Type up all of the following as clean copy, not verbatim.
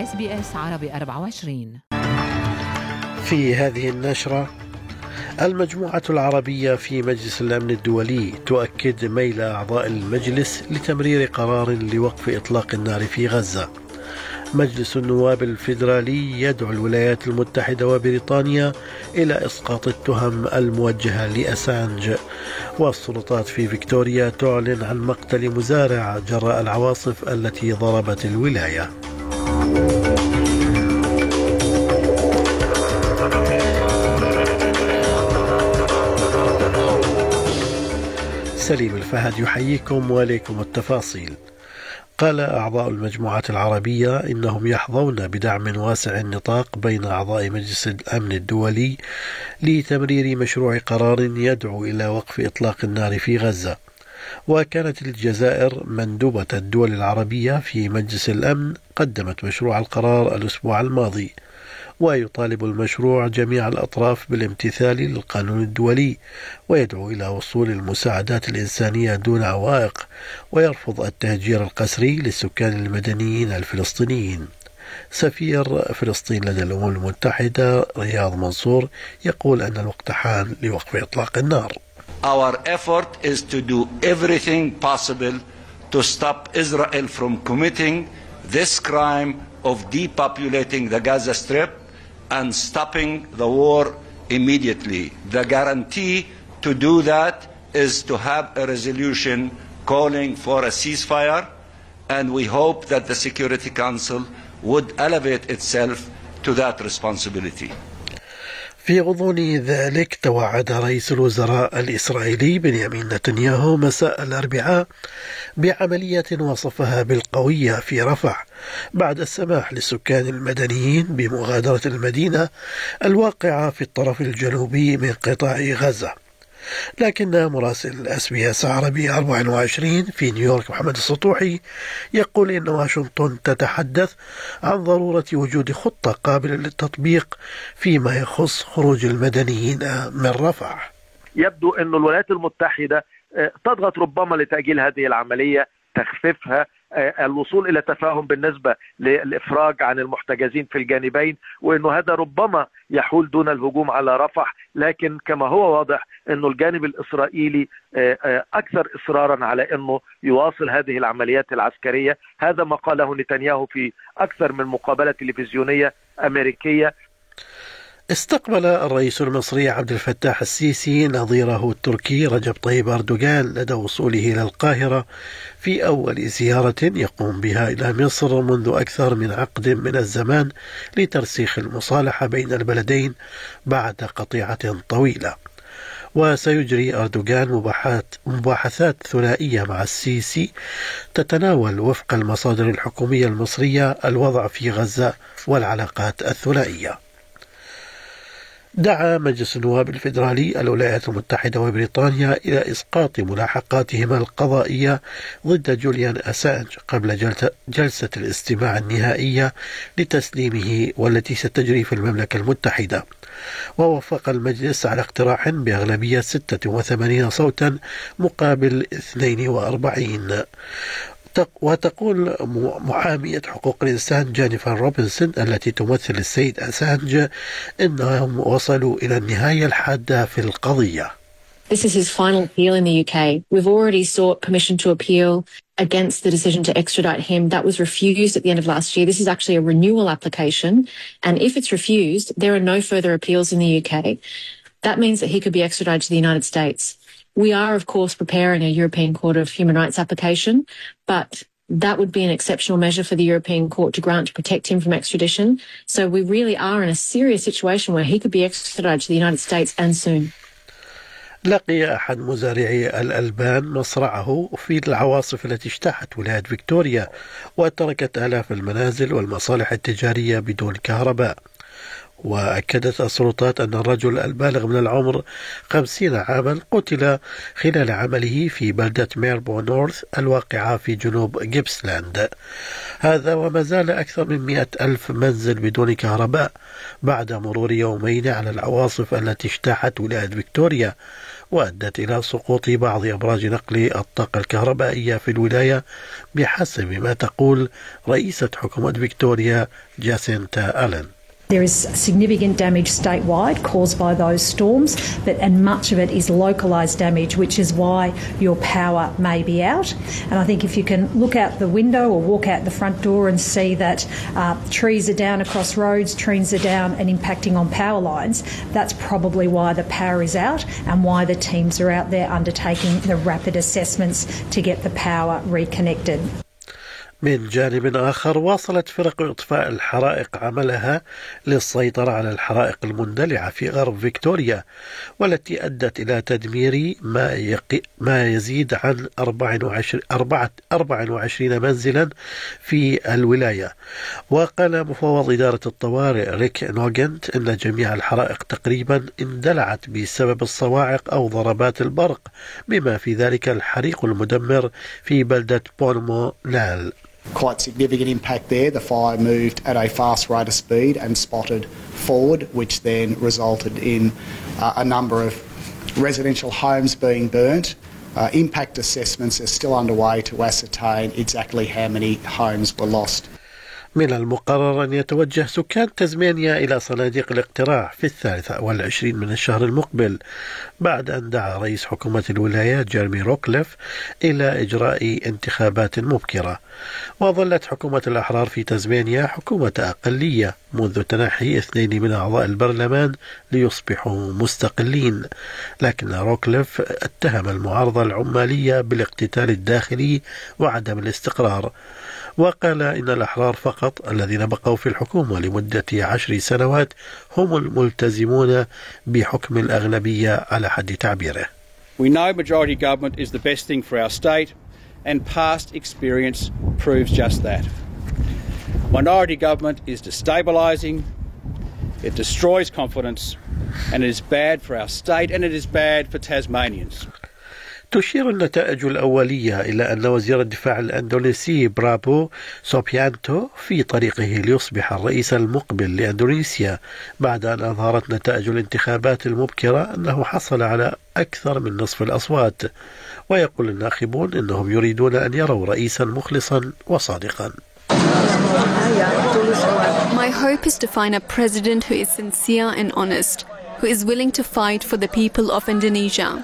SBS عربي 24. في هذه النشرة: المجموعة العربية في مجلس الأمن الدولي تؤكد ميل أعضاء المجلس لتمرير قرار لوقف إطلاق النار في غزة. مجلس النواب الفيدرالي يدعو الولايات المتحدة وبريطانيا إلى إسقاط التهم الموجهة لأسانج. والسلطات في فيكتوريا تعلن عن مقتل مزارع جراء العواصف التي ضربت الولاية. سليم الفهد يحييكم وإليكم التفاصيل. قال أعضاء المجموعة العربية إنهم يحظون بدعم واسع النطاق بين أعضاء مجلس الأمن الدولي لتمرير مشروع قرار يدعو إلى وقف إطلاق النار في غزة. وكانت الجزائر مندوبة الدول العربية في مجلس الأمن قدمت مشروع القرار الأسبوع الماضي، ويطالب المشروع جميع الأطراف بالامتثال للقانون الدولي، ويدعو إلى وصول المساعدات الإنسانية دون عوائق، ويرفض التهجير القسري للسكان المدنيين الفلسطينيين. سفير فلسطين لدى الأمم المتحدة رياض منصور يقول أن الوقت حان لوقف إطلاق النار. Our effort is to do everything possible to stop Israel from committing this crime of depopulating the Gaza Strip and stopping the war immediately. The guarantee to do that is to have a resolution calling for a ceasefire, and we hope that the Security Council would elevate itself to that responsibility. في غضون ذلك توعد رئيس الوزراء الإسرائيلي بنيامين نتنياهو مساء الأربعاء بعملية وصفها بالقوية في رفح بعد السماح للسكان المدنيين بمغادرة المدينة الواقعة في الطرف الجنوبي من قطاع غزة. لكن مراسل SBS عربي 24 في نيويورك محمد السطوحي يقول إن واشنطن تتحدث عن ضرورة وجود خطة قابلة للتطبيق فيما يخص خروج المدنيين من رفح. يبدو أن الولايات المتحدة تضغط ربما لتأجيل هذه العملية، تخفيفها، الوصول إلى تفاهم بالنسبة للإفراج عن المحتجزين في الجانبين، وأنه هذا ربما يحول دون الهجوم على رفح. لكن كما هو واضح أنه الجانب الإسرائيلي أكثر إصرارا على أنه يواصل هذه العمليات العسكرية. هذا ما قاله نتنياهو في أكثر من مقابلة تلفزيونية أمريكية. استقبل الرئيس المصري عبد الفتاح السيسي نظيره التركي رجب طيب أردوغان لدى وصوله إلى القاهرة في أول زيارة يقوم بها إلى مصر منذ أكثر من عقد من الزمان لترسيخ المصالحة بين البلدين بعد قطيعة طويلة. وسيجري أردوغان مباحثات ثنائية مع السيسي تتناول وفق المصادر الحكومية المصرية الوضع في غزة والعلاقات الثنائية. دعا مجلس النواب الفيدرالي الولايات المتحدة وبريطانيا إلى إسقاط ملاحقاتهما القضائية ضد جوليان أسانج قبل جلسة الاستماع النهائية لتسليمه والتي ستجري في المملكة المتحدة. ووافق المجلس على اقتراح بأغلبية 86 صوتا مقابل 42. وتقول محامية حقوق الإنسان جينيفر روبنسون التي تمثل السيد أسانج إنهم وصلوا إلى النهاية الحادة في القضية. This is his final appeal in the UK. We've already sought permission to appeal against the decision to extradite him. That was refused at the end of last year. This is actually a renewal application. And if it's refused, there are no further appeals in the UK. That means that he could be extradited to the United States. We are, of course, preparing a European Court of Human Rights application, but that would be an exceptional measure for the European Court to grant to protect him from extradition. So we really are in a serious situation where he could be extradited to the United States and soon. لقي أحد مزارعي الألبان مصرعه في العواصف التي اجتاحت ولاية فيكتوريا وتركت آلاف المنازل والمصالح التجارية بدون كهرباء. وأكدت السلطات أن الرجل البالغ من العمر 50 عاما قتل خلال عمله في بلدة ميربو نورث الواقعة في جنوب جيبسلاند. هذا وما زال أكثر من 100,000 منزل بدون كهرباء بعد مرور يومين على العواصف التي اجتاحت ولاية فيكتوريا، وأدت إلى سقوط بعض أبراج نقل الطاقة الكهربائية في الولاية بحسب ما تقول رئيسة حكومة فيكتوريا جاسينتا ألين. There is significant damage statewide caused by those storms, and much of it is localised damage, which is why your power may be out. And I think if you can look out the window or walk out the front door and see that trees are down across roads, trees are down and impacting on power lines, that's probably why the power is out and why the teams are out there undertaking the rapid assessments to get the power reconnected. من جانب آخر واصلت فرق إطفاء الحرائق عملها للسيطرة على الحرائق المندلعة في غرب فيكتوريا، والتي أدت إلى تدمير ما يزيد عن 24 منزلا في الولاية. وقال مفوض إدارة الطوارئ ريك نوغنت إن جميع الحرائق تقريبا اندلعت بسبب الصواعق أو ضربات البرق، بما في ذلك الحريق المدمر في بلدة بولمو نال. Quite significant impact there. The fire moved at a fast rate of speed and spotted forward, which then resulted in a number of residential homes being burnt. Impact assessments are still underway to ascertain exactly how many homes were lost. من المقرر أن يتوجه سكان تزمانيا إلى صناديق الاقتراع في 23 من الشهر المقبل، بعد أن دعا رئيس حكومة الولاية جيرمي روكليف إلى إجراء انتخابات مبكرة. وظلت حكومة الأحرار في تزمانيا حكومة أقلية منذ تنحي 2 من أعضاء البرلمان ليصبحوا مستقلين، لكن روكليف اتهم المعارضة العمالية بالاقتتال الداخلي وعدم الاستقرار، وقال إن الأحرار فقط الذين بقوا في الحكومة لمدة 10 سنوات هم الملتزمون بحكم الأغلبية على حد تعبيره. We know majority government is the best thing for our state, and past experience proves just that. Minority government is destabilising, it destroys confidence, and it is bad for our state and it is bad for Tasmanians. تشير النتائج الأولية إلى أن وزير الدفاع الأندونيسي برابو سوبيانتو في طريقه ليصبح الرئيس المقبل لأندونيسيا، بعد أن أظهرت نتائج الانتخابات المبكرة أنه حصل على أكثر من نصف الأصوات. ويقول الناخبون أنهم يريدون أن يروا رئيسا مخلصا وصادقا. My hope is to find a president who is sincere and honest, who is willing to fight for the people of Indonesia.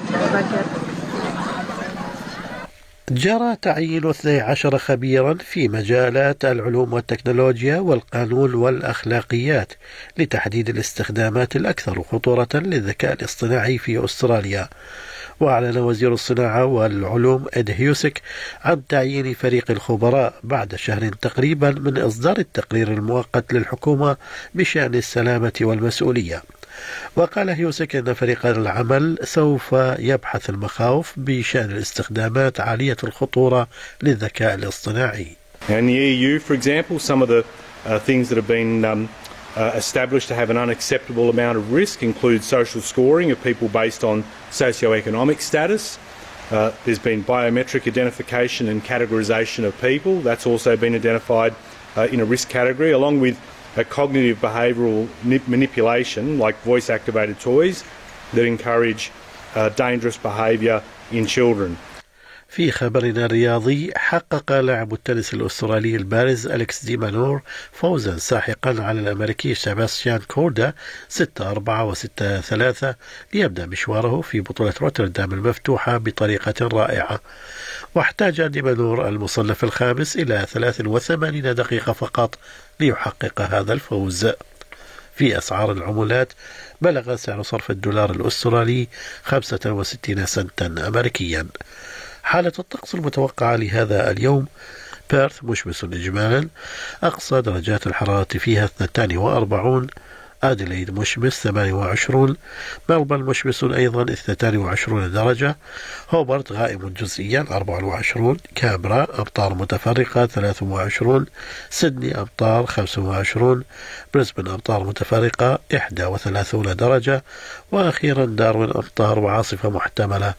جرى تعيين 12 خبيرا في مجالات العلوم والتكنولوجيا والقانون والأخلاقيات لتحديد الاستخدامات الأكثر خطورة للذكاء الاصطناعي في أستراليا. وأعلن وزير الصناعة والعلوم إد هيوسك عن تعيين فريق الخبراء بعد شهر تقريبا من إصدار التقرير المؤقت للحكومة بشأن السلامة والمسؤولية. وقال هيوسك أن فريق العمل سوف يبحث المخاوف بشأن الاستخدامات عالية الخطورة للذكاء الاصطناعي. In the EU, for example, some of the things that have been established to have an unacceptable amount of risk include social scoring of people based on socioeconomic status. There's been biometric identification and categorisation of people. That's also been identified in a risk category, along with cognitive behavioural manipulation like voice-activated toys that encourage dangerous behaviour in children. في خبرنا الرياضي، حقق لاعب التنس الأسترالي البارز أليكس دي مانور فوزا ساحقا على الأمريكي سيباستيان كوردا 6-4 و6-3 ليبدأ مشواره في بطولة روتردام المفتوحة بطريقة رائعة. واحتاج دي مانور المصنف الخامس إلى 83 دقيقة فقط ليحقق هذا الفوز. في أسعار العملات، بلغ سعر صرف الدولار الأسترالي 65 سنتا أمريكيا. حالة الطقس المتوقعة لهذا اليوم: بيرث مشمس إجمالا، أقصى درجات الحرارة فيها 42، أديلايد مشمس 28، ملبورن مشمس أيضا 22 درجة، هوبرت غائم جزئيا 24، كامبرا أمطار متفرقة 23، سيدني أمطار 25، بريسبن أمطار متفرقة 31 درجة، وأخيرا داروين أمطار وعاصفة محتملة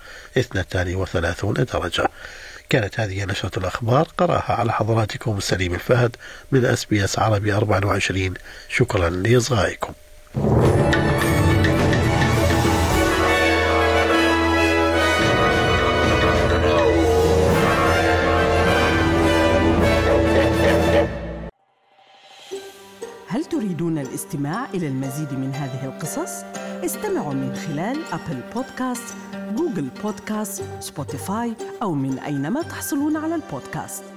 32 درجة. كانت هذه نشرة الأخبار، قرأها على حضراتكم سليم الفهد من SBS عربي 24. شكرا لإصغائكم. هل تريدون الاستماع إلى المزيد من هذه القصص؟ استمعوا من خلال أبل بودكاست، جوجل بودكاست، سبوتيفاي أو من أينما تحصلون على البودكاست.